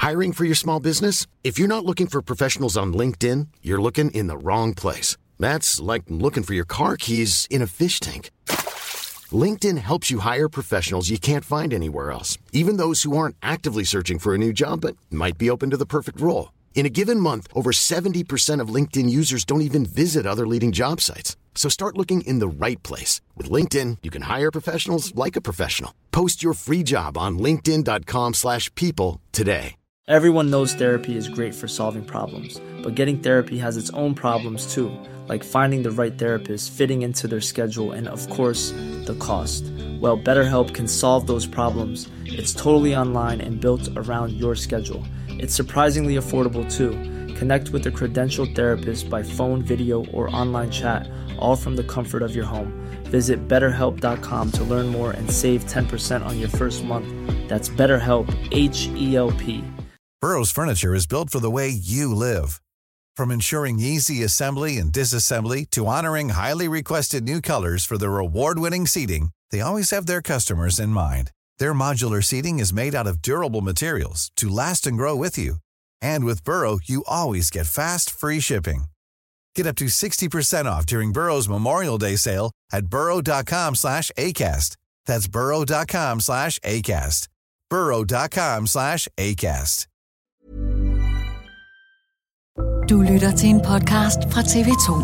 Hiring for your small business? If you're not looking for professionals on LinkedIn, you're looking in the wrong place. That's like looking for your car keys in a fish tank. LinkedIn helps you hire professionals you can't find anywhere else, even those who aren't actively searching for a new job but might be open to the perfect role. In a given month, over 70% of LinkedIn users don't even visit other leading job sites. So start looking in the right place. With LinkedIn, you can hire professionals like a professional. Post your free job on linkedin.com/people today. Everyone knows therapy is great for solving problems, but getting therapy has its own problems too, like finding the right therapist, fitting into their schedule, and of course, the cost. Well, BetterHelp can solve those problems. It's totally online and built around your schedule. It's surprisingly affordable too. Connect with a credentialed therapist by phone, video, or online chat, all from the comfort of your home. Visit BetterHelp.com to learn more and save 10% on your first month. That's BetterHelp, H-E-L-P. Burrow's furniture is built for the way you live. From ensuring easy assembly and disassembly to honoring highly requested new colors for their award-winning seating, they always have their customers in mind. Their modular seating is made out of durable materials to last and grow with you. And with Burrow, you always get fast, free shipping. Get up to 60% off during Burrow's Memorial Day sale at burrow.com/ACAST. That's burrow.com/ACAST. burrow.com/ACAST. Du lytter til en podcast fra TV2.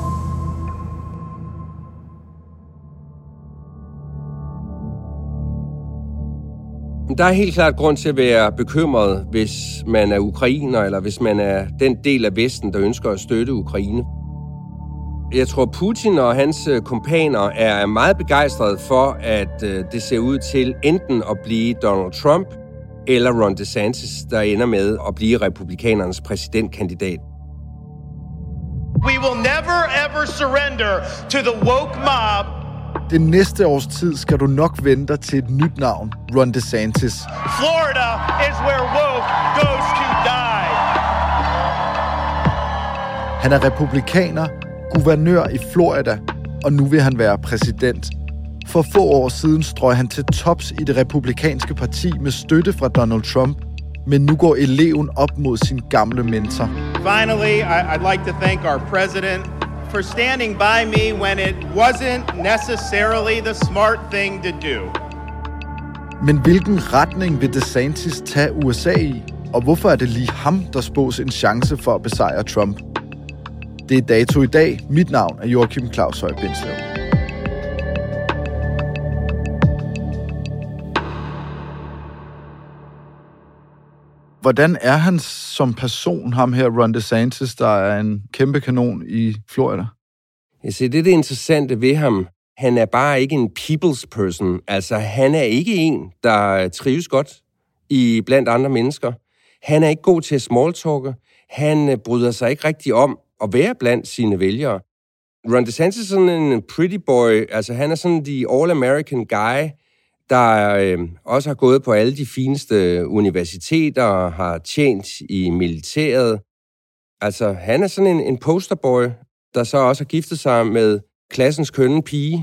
Der er helt klart grund til at være bekymret, hvis man er ukrainer, eller hvis man er den del af Vesten, der ønsker at støtte Ukraine. Jeg tror, Putin og hans kumpaner er meget begejstrede for, at det ser ud til enten at blive Donald Trump eller Ron DeSantis, der ender med at blive republikanernes præsidentkandidat. We will never ever surrender to the woke mob. Det næste års tid skal du nok vente til et nyt navn, Ron DeSantis. Florida is where woke goes to die. Han er republikaner, guvernør i Florida, og nu vil han være præsident. For få år siden strøg han til tops i det republikanske parti med støtte fra Donald Trump, men nu går eleven op mod sin gamle mentor. Finally, I'd like to thank our president for standing by me when it wasn't necessarily the smart thing to do. Men hvilken retning vil DeSantis tage USA i? Og hvorfor er det lige ham, der spås en chance for at besejre Trump? Det er Dato i dag. Mit navn er Joachim Claus Høj Bindslev. Hvordan er han som person, ham her Ron DeSantis, der er en kæmpe kanon i Florida? Jeg siger, det interessante ved ham. Han er bare ikke en people's person. Altså, han er ikke en, der trives godt blandt andre mennesker. Han er ikke god til at smalltalke. Han bryder sig ikke rigtig om at være blandt sine vælgere. Ron DeSantis er sådan en pretty boy. Altså, han er sådan the all-American guy, der også har gået på alle de fineste universiteter og har tjent i militæret. Altså, han er sådan en posterboy, der så også har giftet sig med klassens kønne pige.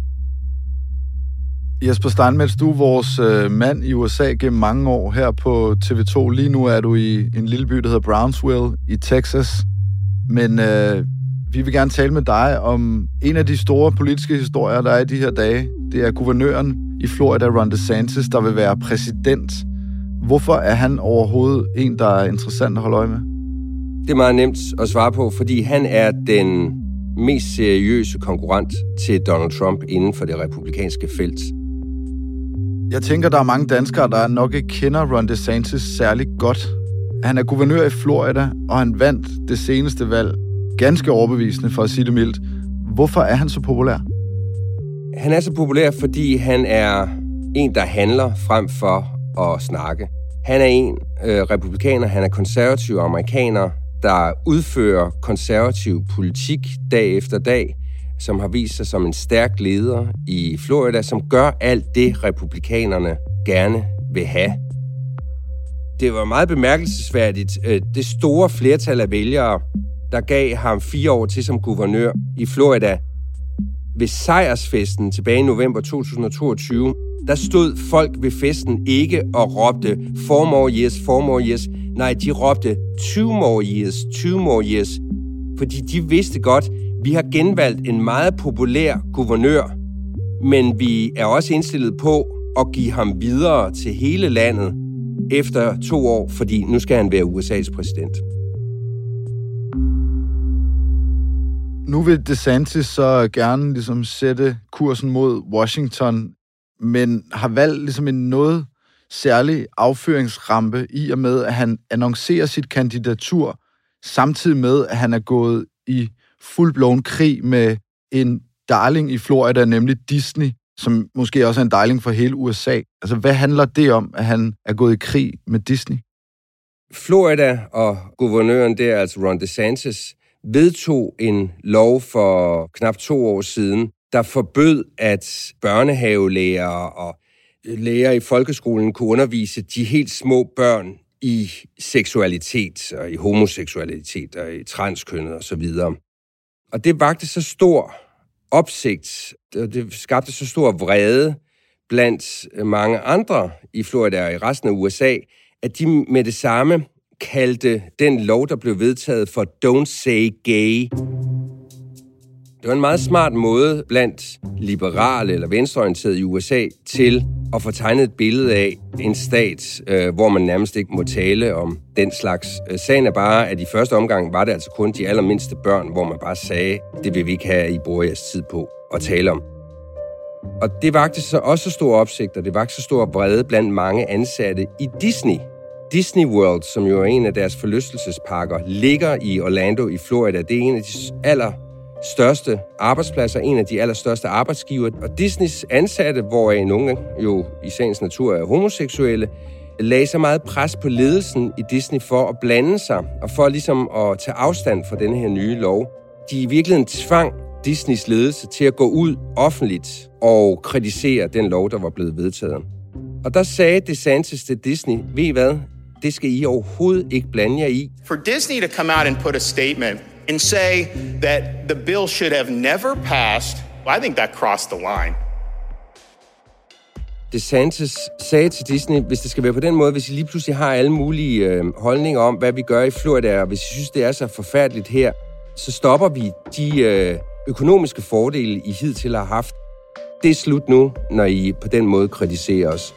Jesper Steinmetz, du er vores mand i USA gennem mange år her på TV2. Lige nu er du i en lille by, der hedder Brownsville i Texas. Men vi vil gerne tale med dig om en af de store politiske historier, der er i de her dage. Det er guvernøren i Florida, Ron DeSantis, der vil være præsident. Hvorfor er han overhovedet en, der er interessant at holde øje med? Det er meget nemt at svare på, fordi han er den mest seriøse konkurrent til Donald Trump inden for det republikanske felt. Jeg tænker, der er mange danskere, der nok ikke kender Ron DeSantis særlig godt. Han er guvernør i Florida, og han vandt det seneste valg. Ganske overbevisende, for at sige det mildt. Hvorfor er han så populær? Han er så populær, fordi han er en, der handler frem for at snakke. Han er en republikaner, han er konservativ amerikaner, der udfører konservativ politik dag efter dag, som har vist sig som en stærk leder i Florida, som gør alt det, republikanerne gerne vil have. Det var meget bemærkelsesværdigt. Det store flertal af vælgere, der gav ham 4 år til som guvernør i Florida, ved sejrsfesten tilbage i november 2022, der stod folk ved festen ikke og råbte 4 more years, 4 more years. Nej, de råbte 2 more years, 2 more years. Fordi de vidste godt, vi har genvalgt en meget populær guvernør, men vi er også indstillet på at give ham videre til hele landet efter 2 år, fordi nu skal han være USA's præsident. Nu vil DeSantis så gerne ligesom sætte kursen mod Washington, men har valgt ligesom en noget særlig afføringsrampe i og med, at han annoncerer sit kandidatur, samtidig med, at han er gået i full-blown krig med en darling i Florida, nemlig Disney, som måske også er en darling for hele USA. Altså, hvad handler det om, at han er gået i krig med Disney? Florida og guvernøren der, altså Ron DeSantis, vedtog en lov for knap 2 år siden, der forbød, at børnehavelærere og lærere i folkeskolen kunne undervise de helt små børn i seksualitet, og i homoseksualitet, og i transkønnet osv. Og det vagte så stor opsigt, og det skabte så stor vrede blandt mange andre i Florida og i resten af USA, at de med det samme kaldte den lov, der blev vedtaget, for Don't Say Gay. Det var en meget smart måde blandt liberale eller venstreorienterede i USA til at få tegnet et billede af en stat, hvor man nærmest ikke må tale om den slags. Sagen er bare, at i første omgang var det altså kun de allermindste børn, hvor man bare sagde, det vil vi ikke have, at I bruger jeres tid på at tale om. Og det vagte så også stor opsigt, og det vagte så stor vrede blandt mange ansatte i Disney. Disney World, som jo er en af deres forlystelsesparker, ligger i Orlando i Florida. Det er en af de allerstørste arbejdspladser, en af de allerstørste arbejdsgiver. Og Disneys ansatte, hvoraf nogle jo i sagens natur er homoseksuelle, lagde så meget pres på ledelsen i Disney for at blande sig, og for ligesom at tage afstand fra denne her nye lov. De i virkeligheden tvang Disneys ledelse til at gå ud offentligt og kritisere den lov, der var blevet vedtaget. Og der sagde DeSantis til Disney, ved I hvad, det skal I overhovedet ikke blande jer i. For Disney to come out and put a statement and say that the bill should have never passed, well, I think that crossed the line. DeSantis sagde til Disney, hvis det skal være på den måde, hvis I lige pludselig har alle mulige holdninger om, hvad vi gør i Florida, og hvis I synes, det er så forfærdeligt her, så stopper vi de økonomiske fordele, I hidtil har haft. Det er slut nu, når I på den måde kritiserer os.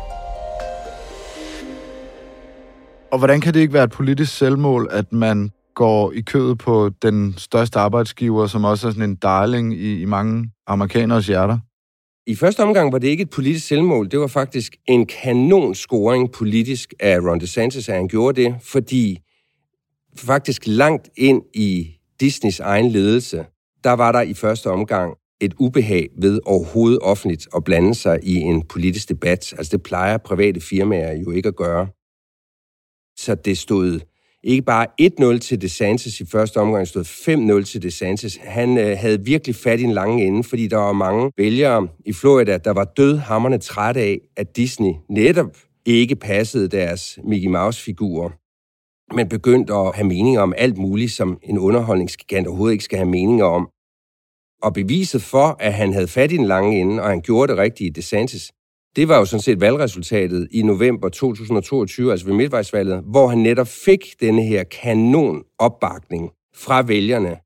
Og hvordan kan det ikke være et politisk selvmål, at man går i kødet på den største arbejdsgiver, som også er sådan en darling i mange amerikaneres hjerter? I første omgang var det ikke et politisk selvmål. Det var faktisk en kanonscoring politisk af Ron DeSantis, at han gjorde det, fordi faktisk langt ind i Disneys egen ledelse, der var der i første omgang et ubehag ved overhovedet offentligt at blande sig i en politisk debat. Altså det plejer private firmaer jo ikke at gøre. Så det stod ikke bare 1-0 til DeSantis i første omgang, det stod 5-0 til DeSantis. Han havde virkelig fat i en lange ende, fordi der var mange vælgere i Florida, der var dødhamrende trætte af, at Disney netop ikke passede deres Mickey Mouse-figurer, men begyndte at have meninger om alt muligt, som en underholdningsgigant overhovedet ikke skal have meninger om. Og beviset for, at han havde fat i en lange ende, og han gjorde det rigtigt i DeSantis, det var jo sådan set valgresultatet i november 2022, altså ved midtvejsvalget, hvor han netop fik denne her kanon opbakning fra vælgerne.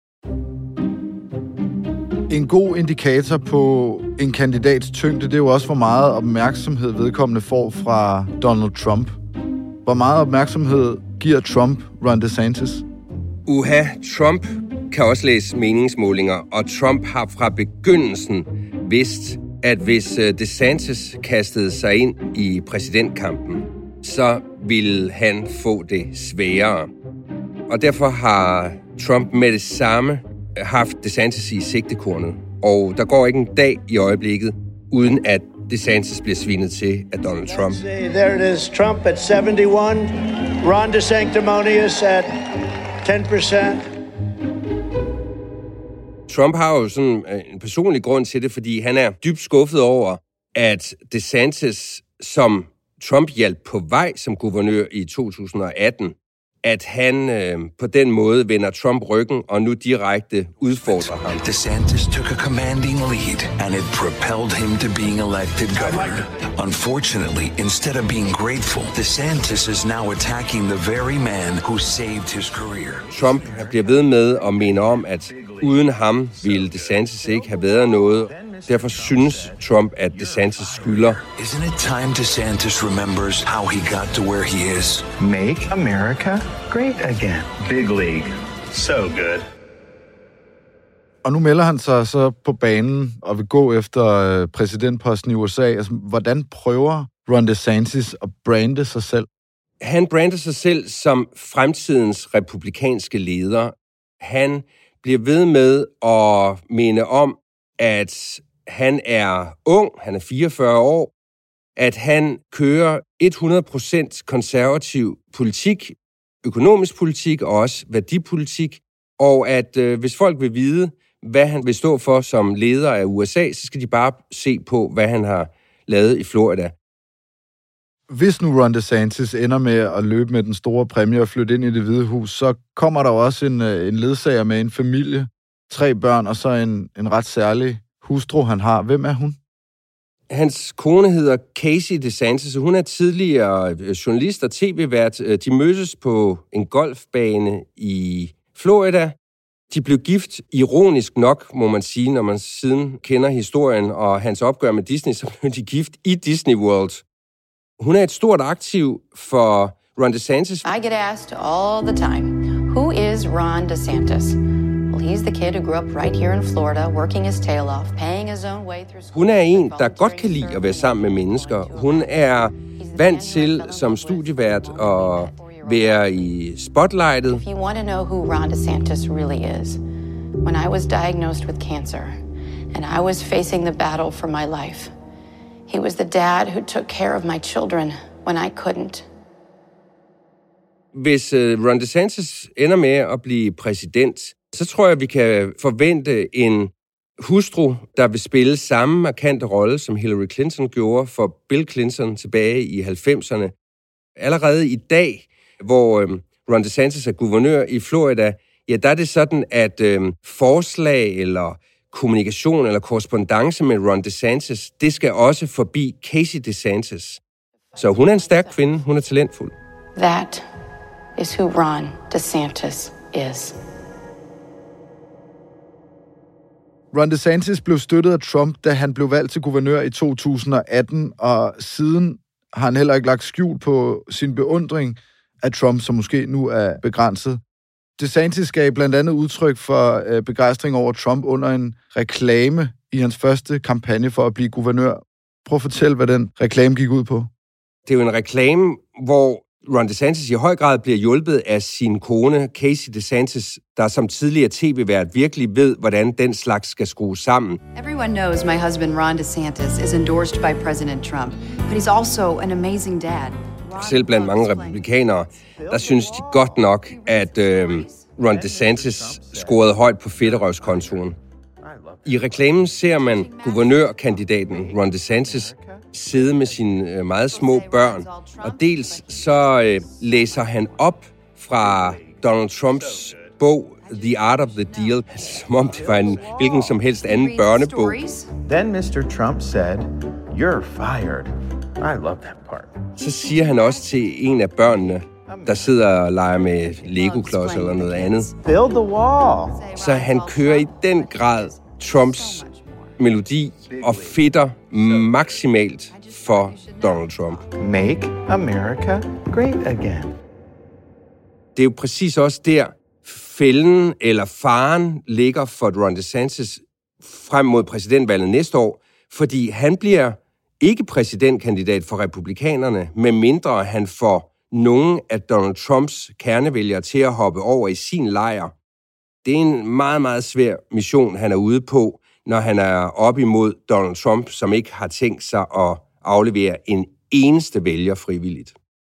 En god indikator på en kandidats tyngde, det er jo også, hvor meget opmærksomhed vedkommende får fra Donald Trump. Hvor meget opmærksomhed giver Trump Ron DeSantis? Trump kan også læse meningsmålinger, og Trump har fra begyndelsen vidst, at hvis DeSantis kastede sig ind i præsidentkampen, så ville han få det sværere. Og derfor har Trump med det samme haft DeSantis i sigtekornet. Og der går ikke en dag i øjeblikket, uden at DeSantis bliver svinet til af Donald Trump. There it is, Trump at 71, Ron DeSanctimonious at 10%. Trump har jo sådan en personlig grund til det, fordi han er dybt skuffet over, at DeSantis, som Trump hjalp på vej som guvernør i 2018, at han på den måde vender Trump ryggen og nu direkte udfordrer ham. DeSantis took a commanding lead, and it propelled him to being elected governor. Unfortunately, instead of being grateful, DeSantis is now attacking the very man who saved his career. Trump bliver ved med at minde om, at uden ham ville DeSantis ikke have været noget. Derfor synes Trump, at DeSantis skylder. Isn't it time DeSantis remembers how he got to where he is? Make America great again. Big league. So good. Og nu melder han sig så på banen og vil gå efter præsidentposten i USA. Altså, hvordan prøver Ron DeSantis at brande sig selv? Han brander sig selv som fremtidens republikanske leder. Han bliver ved med at minde om, at han er ung, han er 44 år, at han kører 100% konservativ politik, økonomisk politik og også værdipolitik, og at hvis folk vil vide, hvad han vil stå for som leder af USA, så skal de bare se på, hvad han har lavet i Florida. Hvis nu Ron DeSantis ender med at løbe med den store præmie og flytte ind i Det Hvide Hus, så kommer der også en ledsager med en familie, 3 børn og så en ret særlig hustru, han har. Hvem er hun? Hans kone hedder Casey DeSantis, og hun er tidligere journalist og tv-vært. De mødtes på en golfbane i Florida. De blev gift, ironisk nok, må man sige, når man siden kender historien og hans opgør med Disney, så blev de gift i Disney World. Hun er et stort aktiv for Ron DeSantis. I get asked all the time, who is Ron DeSantis? Well, he's the kid who grew up right here in Florida, working his tail off, paying his own way through school. Hun er en, der godt kan lide at være sammen med mennesker. Hun er vant til som studievært at være i spotlightet. If you want to know who Ron DeSantis really is, when I was diagnosed with cancer, and I was facing the battle for my life, he was the dad who took care of my children when I couldn't. Hvis Ron DeSantis ender med at blive præsident, så tror jeg, vi kan forvente en hustru, der vil spille samme markante rolle, som Hillary Clinton gjorde for Bill Clinton tilbage i 90'erne. Allerede i dag, hvor Ron DeSantis er guvernør i Florida, ja, der er det sådan, at forslag eller kommunikation eller korrespondance med Ron DeSantis, det skal også forbi Casey DeSantis. Så hun er en stærk kvinde, hun er talentfuld. That is who Ron DeSantis is. Ron DeSantis blev støttet af Trump, da han blev valgt til guvernør i 2018, og siden har han heller ikke lagt skjul på sin beundring af Trump, som måske nu er begrænset. DeSantis gav blandt andet udtryk for begejstring over Trump under en reklame i hans første kampagne for at blive guvernør. Prøv at fortælle, hvad den reklame gik ud på. Det er jo en reklame, hvor Ron DeSantis i høj grad bliver hjulpet af sin kone, Casey DeSantis, der som tidligere tv-vært virkelig ved, hvordan den slags skal skrues sammen. Everyone knows my husband Ron DeSantis is endorsed by President Trump, but he's also an amazing dad. Selv blandt mange republikanere, der synes de godt nok, at Ron DeSantis scorede højt på fedterøvskontoen. I reklamen ser man guvernørkandidaten Ron DeSantis sidde med sine meget små børn, og dels så læser han op fra Donald Trumps bog The Art of the Deal, som om det var en hvilken som helst anden børnebog. Then Mr. Trump said, "You're fired." I love that part. Så siger han også til en af børnene, der sidder og leger med Lego-klods eller noget andet. Build the wall. Så han kører i den grad Trumps melodi og fedter maksimalt for Donald Trump. Make America great again. Det er jo præcis også der, fælden eller faren ligger for Ron DeSantis frem mod præsidentvalget næste år, fordi han bliver ikke præsidentkandidat for republikanerne, medmindre han får nogen af Donald Trumps kernevælgere til at hoppe over i sin lejr. Det er en meget, meget svær mission, han er ude på, når han er op imod Donald Trump, som ikke har tænkt sig at aflevere en eneste vælger frivilligt.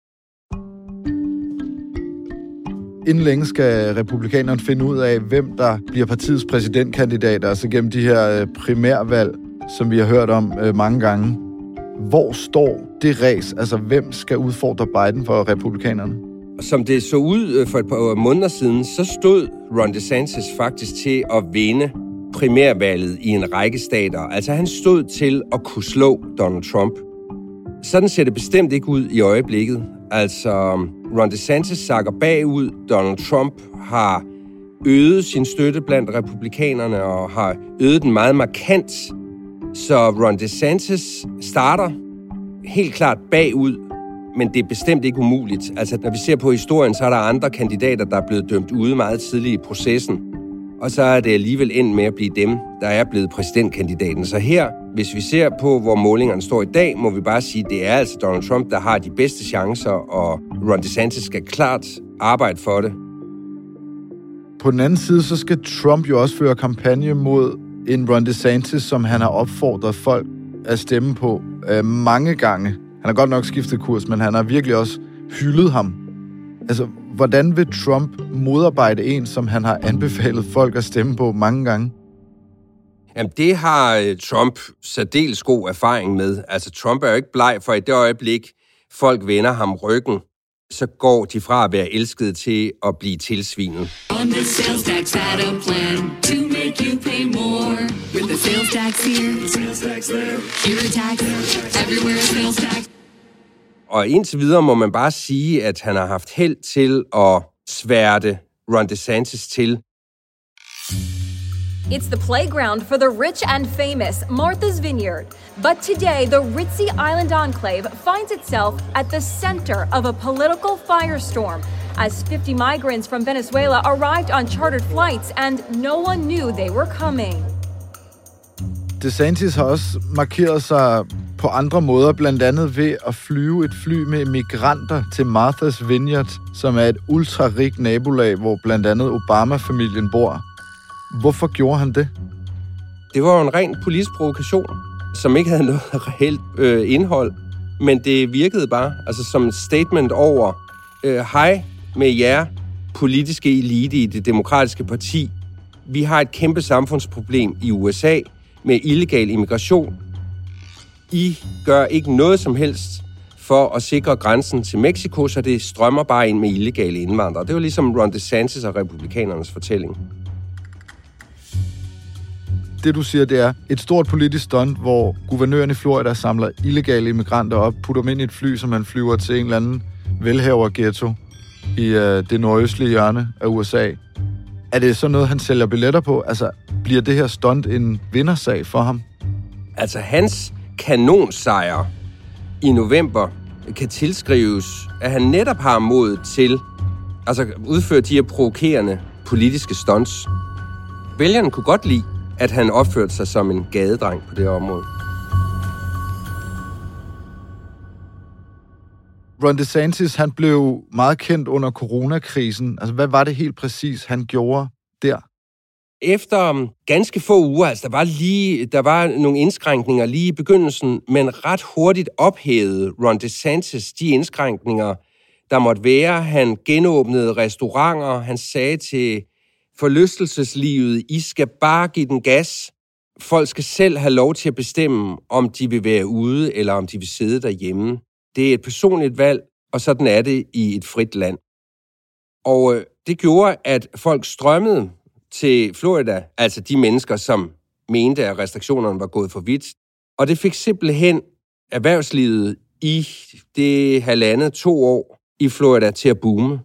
Inden længe skal republikanerne finde ud af, hvem der bliver partiets præsidentkandidater, altså gennem de her primærvalg, som vi har hørt om mange gange. Hvor står det ræs? Altså, hvem skal udfordre Biden for republikanerne? Som det så ud for et par måneder siden, så stod Ron DeSantis faktisk til at vinde primærvalget i en række stater. Altså han stod til at kunne slå Donald Trump. Sådan ser det bestemt ikke ud i øjeblikket. Altså Ron DeSantis sakker bagud. Donald Trump har øget sin støtte blandt republikanerne og har øget den meget markant. Så Ron DeSantis starter helt klart bagud, men det er bestemt ikke umuligt. Altså, når vi ser på historien, så er der andre kandidater, der er blevet dømt ude meget tidligt i processen. Og så er det alligevel endt med at blive dem, der er blevet præsidentkandidaten. Så her, hvis vi ser på, hvor målingerne står i dag, må vi bare sige, at det er altså Donald Trump, der har de bedste chancer, og Ron DeSantis skal klart arbejde for det. På den anden side, så skal Trump jo også føre kampagne mod en Ron DeSantis, som han har opfordret folk at stemme på mange gange. Han har godt nok skiftet kurs, men han har virkelig også hyldet ham. Altså, hvordan vil Trump modarbejde en, som han har anbefalet folk at stemme på mange gange? Jamen, det har Trump særdeles god erfaring med. Altså, Trump er jo ikke bleg for i det øjeblik, folk vender ham ryggen, så går de fra at være elskede til at blive tilsvinet. On the sales tax add-on plan to make you pay more. With the sales tax here, sales tax there, here a tax, everywhere sales tax. Og indtil videre må man bare sige, at han har haft held til at sværte Ron DeSantis til. It's the playground for the rich and famous, Martha's Vineyard. But today, the ritzy island enclave finds itself at the center of a political firestorm as 50 migrants from Venezuela arrived on chartered flights and no one knew they were coming. DeSantis har også markeret sig på andre måder, blandt andet ved at flyve et fly med migranter til Martha's Vineyard, som er et ultrarigt nabolag, hvor blandt andet Obama-familien bor. Hvorfor gjorde han det? Det var jo en ren politisk provokation, som ikke havde noget reelt indhold, men det virkede bare altså som et statement over, hej med jer, politiske elite i det demokratiske parti. Vi har et kæmpe samfundsproblem i USA med illegal immigration. I gør ikke noget som helst for at sikre grænsen til Mexico, så det strømmer bare ind med illegale indvandrere. Det var ligesom Ron DeSantis og republikanernes fortælling. Det, du siger, det er et stort politisk stunt, hvor guvernøren i Florida samler illegale immigranter op, putter dem ind i et fly, som man flyver til en eller anden velhaverghetto i det nordøstlige hjørne af USA. Er det så noget, han sælger billetter på? Altså, bliver det her stunt en vindersag for ham? Altså, hans kanonsejr i november kan tilskrives, at han netop har mod til altså udføre de her provokerende politiske stunts. Vælgerne kunne godt lide, at han opførte sig som en gadedreng på det område. Ron DeSantis, han blev meget kendt under coronakrisen. Altså, hvad var det helt præcis, han gjorde der? Efter ganske få uger, altså der var nogle indskrænkninger lige i begyndelsen, men ret hurtigt ophævede Ron DeSantis de indskrænkninger, der måtte være. Han genåbnede restauranter, han sagde til forlystelseslivet, I skal bare give den gas. Folk skal selv have lov til at bestemme, om de vil være ude, eller om de vil sidde derhjemme. Det er et personligt valg, og sådan er det i et frit land. Og det gjorde, at folk strømmede til Florida, altså de mennesker, som mente, at restriktionerne var gået for vidt. Og det fik simpelthen erhvervslivet i det 1,5-2 år i Florida til at boome.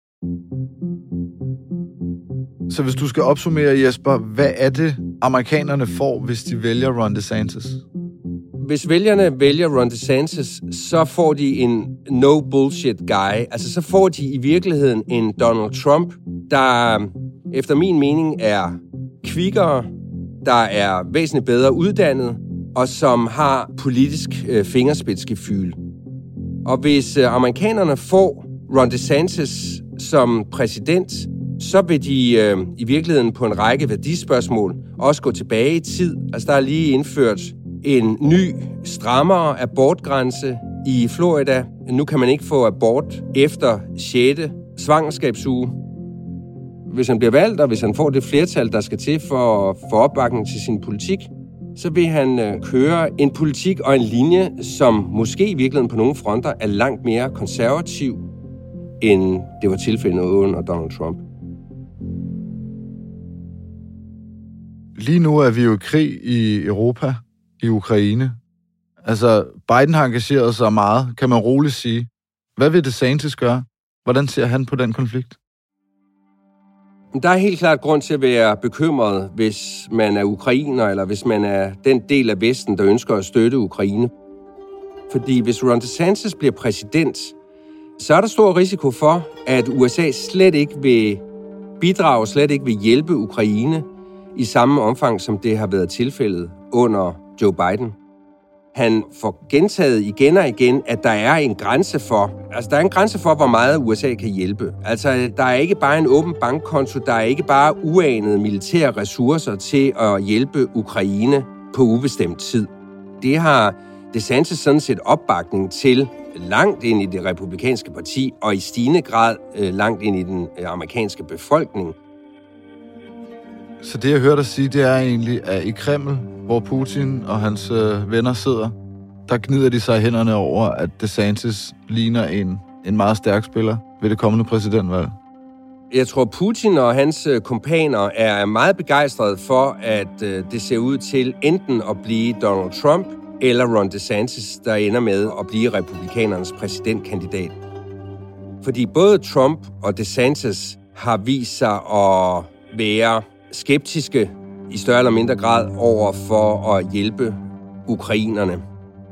Så hvis du skal opsummere, Jesper, hvad er det, amerikanerne får, hvis de vælger Ron DeSantis? Hvis vælgerne vælger Ron DeSantis, så får de en no-bullshit guy. Altså, så får de i virkeligheden en Donald Trump, der efter min mening er kvikkere, der er væsentligt bedre uddannet, og som har politisk fingerspidsgefyl. Og hvis amerikanerne får Ron DeSantis som præsident, så vil de i virkeligheden på en række værdispørgsmål også gå tilbage i tid. Altså, der er lige indført en ny, strammere abortgrænse i Florida. Nu kan man ikke få abort efter 6. svangerskabsuge. Hvis han bliver valgt, og hvis han får det flertal, der skal til for at få opbakning til sin politik, så vil han køre en politik og en linje, som måske i virkeligheden på nogle fronter er langt mere konservativ. end det var tilfældet under Donald Trump. Lige nu er vi jo i krig i Europa, i Ukraine. Altså, Biden har engageret sig meget, kan man roligt sige. Hvad vil DeSantis gøre? Hvordan ser han på den konflikt? Der er helt klart grund til at være bekymret, hvis man er ukrainer, eller hvis man er den del af Vesten, der ønsker at støtte Ukraine. Fordi hvis Ron DeSantis bliver præsident, så er der stor risiko for, at USA slet ikke vil bidrage, slet ikke vil hjælpe Ukraine i samme omfang, som det har været tilfældet under Joe Biden. Han får gentaget igen og igen, at der er en grænse for, hvor meget USA kan hjælpe. Altså, der er ikke bare en åben bankkonto, der er ikke bare uanede militære ressourcer til at hjælpe Ukraine på ubestemt tid. Det har DeSantis sådan set opbakning til langt ind i det republikanske parti, og i stigende grad langt ind i den amerikanske befolkning. Så det, jeg hørte dig sige, det er egentlig, at i Kreml, hvor Putin og hans venner sidder, der gnider de sig i hænderne over, at DeSantis ligner en meget stærk spiller ved det kommende præsidentvalg. Jeg tror, Putin og hans kumpaner er meget begejstrede for, at det ser ud til enten at blive Donald Trump eller Ron DeSantis, der ender med at blive republikanernes præsidentkandidat. Fordi både Trump og DeSantis har vist sig at være skeptiske i større eller mindre grad over for at hjælpe ukrainerne.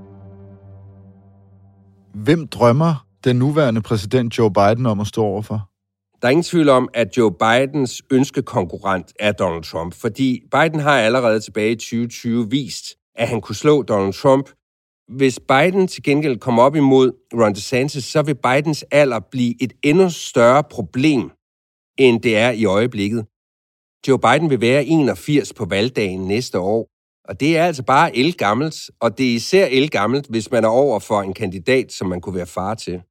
Hvem drømmer den nuværende præsident Joe Biden om at stå overfor? Der er ingen tvivl om, at Joe Bidens ønskekonkurrent er Donald Trump, fordi Biden har allerede tilbage i 2020 vist, at han kunne slå Donald Trump. Hvis Biden til gengæld kommer op imod Ron DeSantis, så vil Bidens alder blive et endnu større problem, end det er i øjeblikket. Joe Biden vil være 81 på valgdagen næste år, og det er altså bare ældgammelt, og det er især ældgammelt, hvis man er over for en kandidat, som man kunne være far til.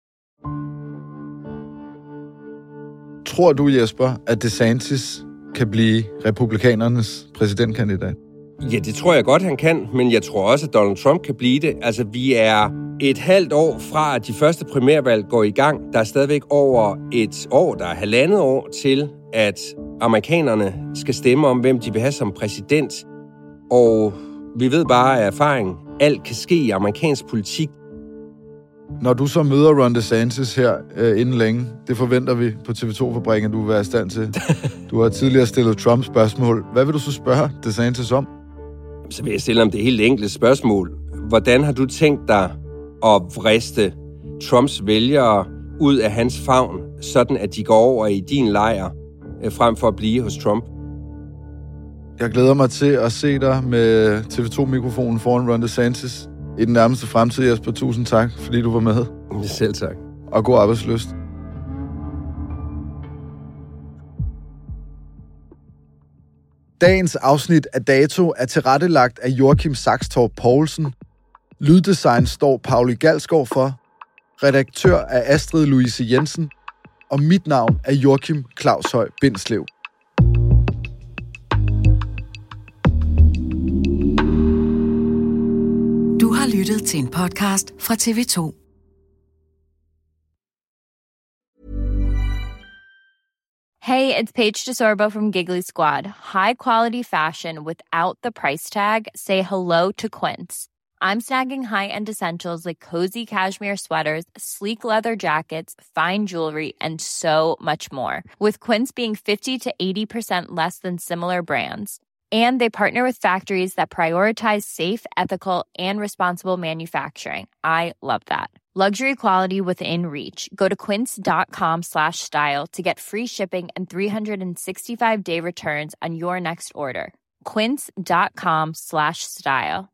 Tror du, Jesper, at DeSantis kan blive republikanernes præsidentkandidat? Ja, det tror jeg godt, han kan, men jeg tror også, at Donald Trump kan blive det. Altså, vi er et halvt år fra, at de første primærvalg går i gang. Der er stadigvæk over et år, der er halvandet år til, at amerikanerne skal stemme om, hvem de vil have som præsident. Og vi ved bare af erfaring, alt kan ske i amerikansk politik. Når du så møder Ron DeSantis her inden længe, det forventer vi på TV2-fabrikken, at du vil være i stand til. Du har tidligere stillet Trump spørgsmål. Hvad vil du så spørge DeSantis om? Så vil jeg stille ham det helt enkle spørgsmål. Hvordan har du tænkt dig at vriste Trumps vælgere ud af hans favn, sådan at de går over i din lejr, frem for at blive hos Trump? Jeg glæder mig til at se dig med TV2-mikrofonen foran Ron DeSantis i den nærmeste fremtid, Jesper. Tusind tak, fordi du var med. Selv tak. Og god arbejdslyst. Dagens afsnit af Dato er tilrettelagt af Joachim Saxtorp Poulsen. Lyddesign står Pauli Galskov for. Redaktør er Astrid Louise Jensen. Og mit navn er Joachim Claushøj Bindslev. Du har lyttet til en podcast fra TV2. Hey, it's Paige DeSorbo from Giggly Squad. High quality fashion without the price tag. Say hello to Quince. I'm snagging high-end essentials like cozy cashmere sweaters, sleek leather jackets, fine jewelry, and so much more. With Quince being 50 to 80% less than similar brands. And they partner with factories that prioritize safe, ethical, and responsible manufacturing. I love that. Luxury quality within reach. Go to quince.com/style to get free shipping and 365-day returns on your next order. Quince.com/style.